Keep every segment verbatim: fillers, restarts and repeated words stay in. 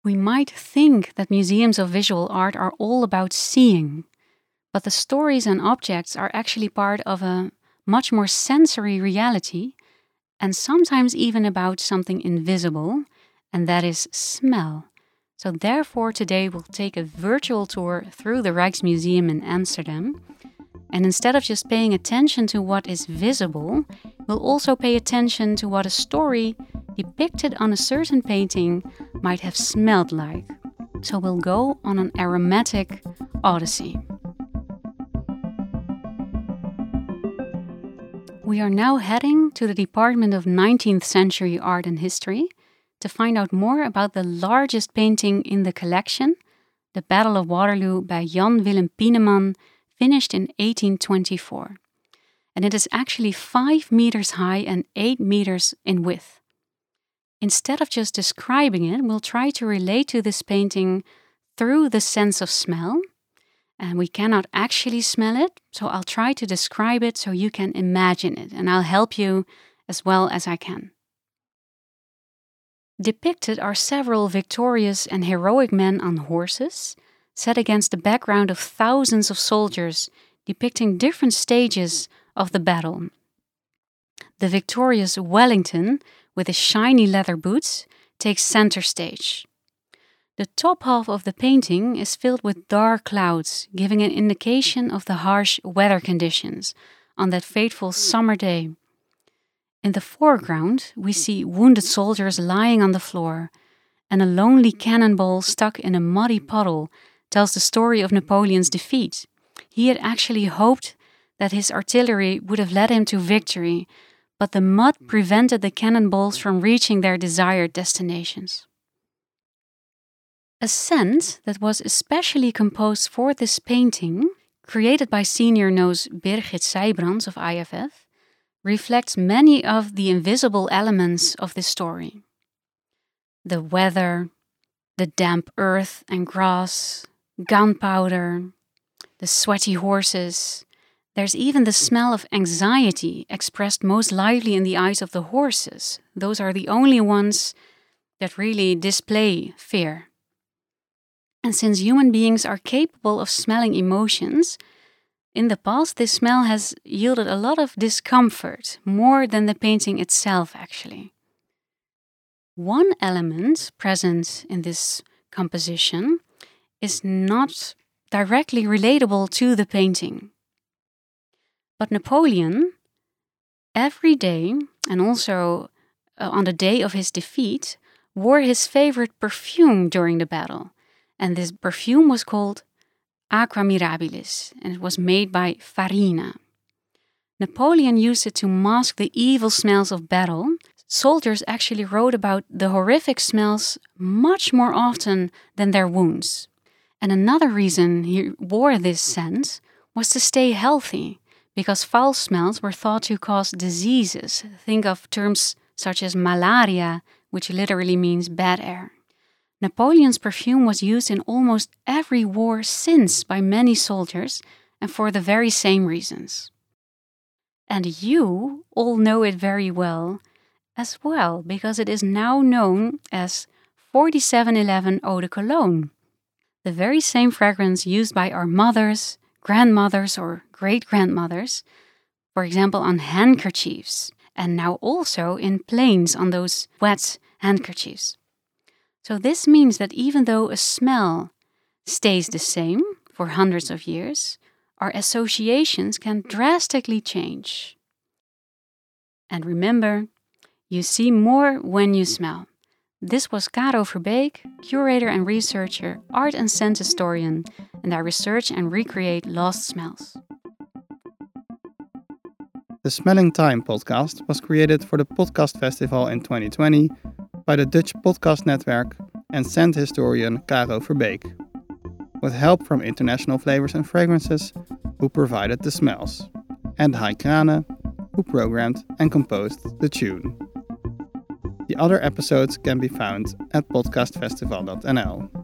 We might think that museums of visual art are all about seeing, but the stories and objects are actually part of a much more sensory reality, and sometimes even about something invisible, and that is smell. So therefore today we'll take a virtual tour through the Rijksmuseum in Amsterdam, and instead of just paying attention to what is visible, we'll also pay attention to what a story depicted on a certain painting might have smelled like. So we'll go on an aromatic odyssey. We are now heading to the Department of nineteenth Century Art and History to find out more about the largest painting in the collection, The Battle of Waterloo by Jan Willem Pieneman, finished in eighteen twenty-four. And it is actually five meters high and eight meters in width. Instead of just describing it, we'll try to relate to this painting through the sense of smell. And we cannot actually smell it, so I'll try to describe it so you can imagine it, and I'll help you as well as I can. Depicted are several victorious and heroic men on horses, set against the background of thousands of soldiers, depicting different stages of the battle. The victorious Wellington, with his shiny leather boots, takes center stage. The top half of the painting is filled with dark clouds, giving an indication of the harsh weather conditions on that fateful summer day. In the foreground, we see wounded soldiers lying on the floor, and a lonely cannonball stuck in a muddy puddle tells the story of Napoleon's defeat. He had actually hoped that his artillery would have led him to victory, but the mud prevented the cannonballs from reaching their desired destinations. A scent that was especially composed for this painting, created by senior nose Birgit Sijbrands of I F F, reflects many of the invisible elements of this story. The weather, the damp earth and grass, gunpowder, the sweaty horses. There's even the smell of anxiety expressed most lively in the eyes of the horses. Those are the only ones that really display fear. And since human beings are capable of smelling emotions, in the past this smell has yielded a lot of discomfort, more than the painting itself actually. One element present in this composition is not directly relatable to the painting. But Napoleon, every day, and also uh, on the day of his defeat, wore his favorite perfume during the battle. And this perfume was called Aqua Mirabilis, and it was made by Farina. Napoleon used it to mask the evil smells of battle. Soldiers actually wrote about the horrific smells much more often than their wounds. And another reason he wore this scent was to stay healthy, because foul smells were thought to cause diseases. Think of terms such as malaria, which literally means bad air. Napoleon's perfume was used in almost every war since by many soldiers, and for the very same reasons. And you all know it very well as well, because it is now known as forty-seven eleven Eau de Cologne, the very same fragrance used by our mothers, grandmothers or great-grandmothers, for example on handkerchiefs, and now also in planes on those wet handkerchiefs. So this means that even though a smell stays the same for hundreds of years, our associations can drastically change. And remember, you see more when you smell. This was Caro Verbeek, curator and researcher, art and scent historian, and I research and recreate lost smells. The Smelling Time podcast was created for the Podcast Festival in twenty twenty by the Dutch Podcast Network and scent historian Caro Verbeek, with help from International Flavors and Fragrances, who provided the smells, and Hai Krane, who programmed and composed the tune. The other episodes can be found at podcastfestival dot n l.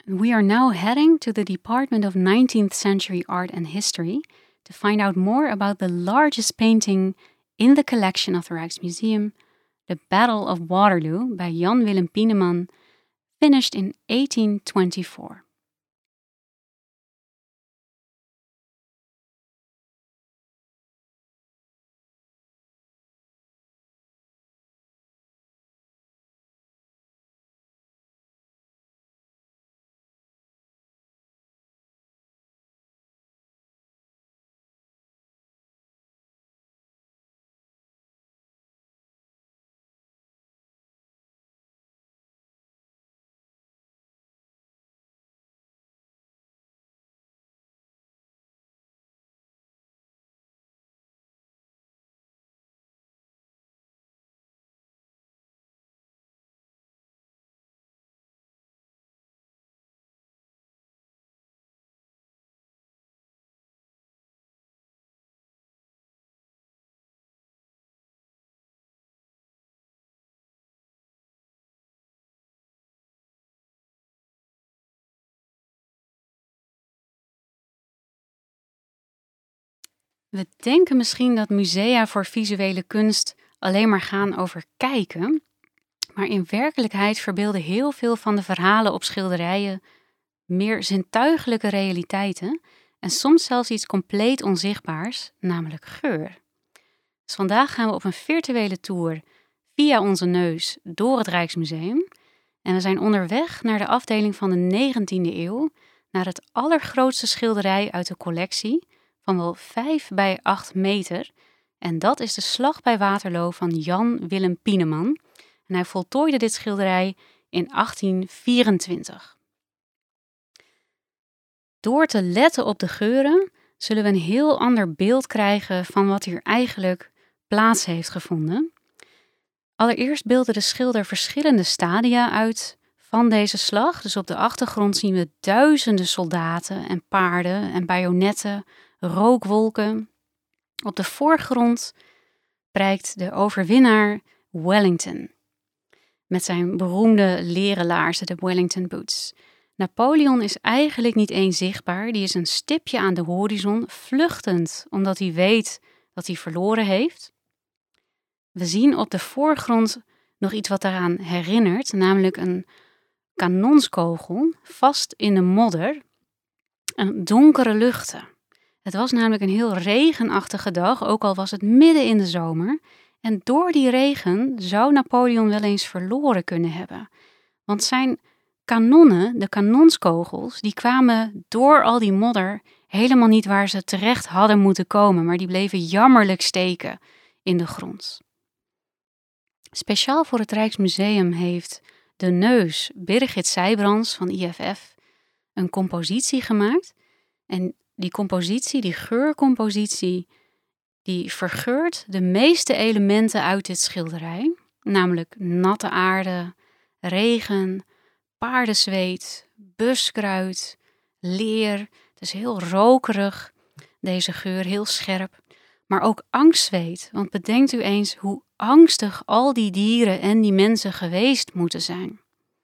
We are now heading to the Department of nineteenth Century Art and History to find out more about the largest painting in the collection of the Rijksmuseum, The Battle of Waterloo by Jan Willem Pieneman, finished in eighteen twenty-four. We denken misschien dat musea voor visuele kunst alleen maar gaan over kijken, maar in werkelijkheid verbeelden heel veel van de verhalen op schilderijen meer zintuigelijke realiteiten en soms zelfs iets compleet onzichtbaars, namelijk geur. Dus vandaag gaan we op een virtuele tour via onze neus door het Rijksmuseum en we zijn onderweg naar de afdeling van de negentiende eeuw, naar het allergrootste schilderij uit de collectie van wel vijf bij acht meter. En dat is de Slag bij Waterloo van Jan Willem Pieneman. En hij voltooide dit schilderij in achttien vierentwintig. Door te letten op de geuren zullen we een heel ander beeld krijgen van wat hier eigenlijk plaats heeft gevonden. Allereerst beelde de schilder verschillende stadia uit van deze slag. Dus op de achtergrond zien we duizenden soldaten en paarden en bajonetten, rookwolken. Op de voorgrond prijkt de overwinnaar Wellington met zijn beroemde leren laarzen, de Wellington Boots. Napoleon is eigenlijk niet eens zichtbaar, die is een stipje aan de horizon, vluchtend, omdat hij weet dat hij verloren heeft. We zien op de voorgrond nog iets wat daaraan herinnert, namelijk een kanonskogel vast in de modder en donkere luchten. Het was namelijk een heel regenachtige dag, ook al was het midden in de zomer. En door die regen zou Napoleon wel eens verloren kunnen hebben. Want zijn kanonnen, de kanonskogels, die kwamen door al die modder helemaal niet waar ze terecht hadden moeten komen, maar die bleven jammerlijk steken in de grond. Speciaal voor het Rijksmuseum heeft de neus Birgit Sijbrands van I F F een compositie gemaakt. En die compositie, die geurcompositie, die vergeurt de meeste elementen uit dit schilderij. Namelijk natte aarde, regen, paardenzweet, buskruid, leer. Het is heel rokerig, deze geur, heel scherp. Maar ook angstzweet, want bedenkt u eens hoe angstig al die dieren en die mensen geweest moeten zijn.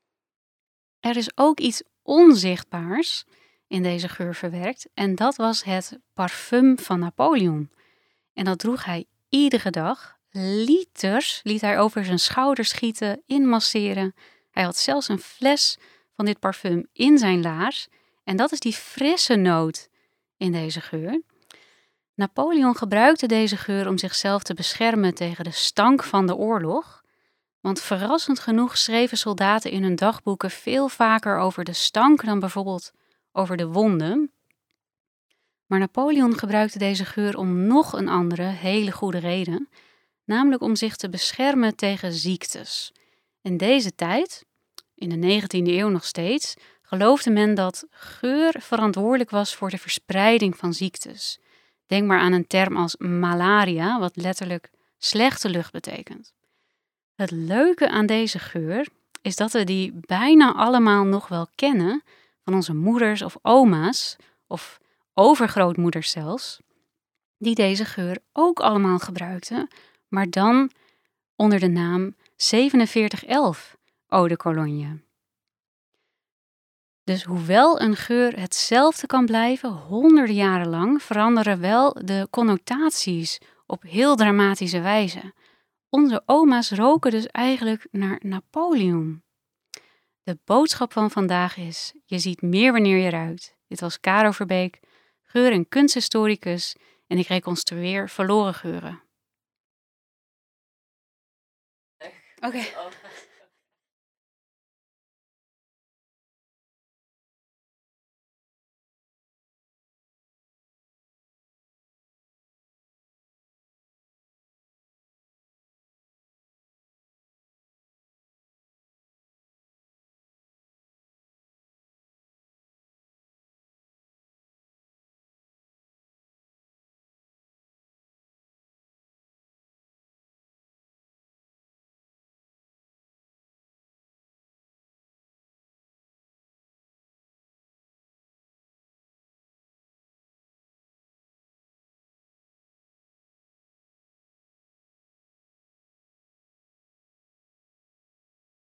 Er is ook iets onzichtbaars in deze geur verwerkt en dat was het parfum van Napoleon. En dat droeg hij iedere dag. Liters liet hij over zijn schouders schieten, inmasseren. Hij had zelfs een fles van dit parfum in zijn laars. En dat is die frisse noot in deze geur. Napoleon gebruikte deze geur om zichzelf te beschermen tegen de stank van de oorlog. Want verrassend genoeg schreven soldaten in hun dagboeken veel vaker over de stank dan bijvoorbeeld over de wonden. Maar Napoleon gebruikte deze geur om nog een andere, hele goede reden, namelijk om zich te beschermen tegen ziektes. In deze tijd, in de negentiende eeuw nog steeds, geloofde men dat geur verantwoordelijk was voor de verspreiding van ziektes. Denk maar aan een term als malaria, wat letterlijk slechte lucht betekent. Het leuke aan deze geur is dat we die bijna allemaal nog wel kennen van onze moeders of oma's, of overgrootmoeders zelfs, die deze geur ook allemaal gebruikten, maar dan onder de naam zevenenveertig elf Eau de Cologne. Dus hoewel een geur hetzelfde kan blijven, honderden jaren lang, veranderen wel de connotaties op heel dramatische wijze. Onze oma's roken dus eigenlijk naar Napoleon. De boodschap van vandaag is, je ziet meer wanneer je ruikt. Dit was Caro Verbeek, geur- en kunsthistoricus, en ik reconstrueer verloren geuren. Oké. Okay.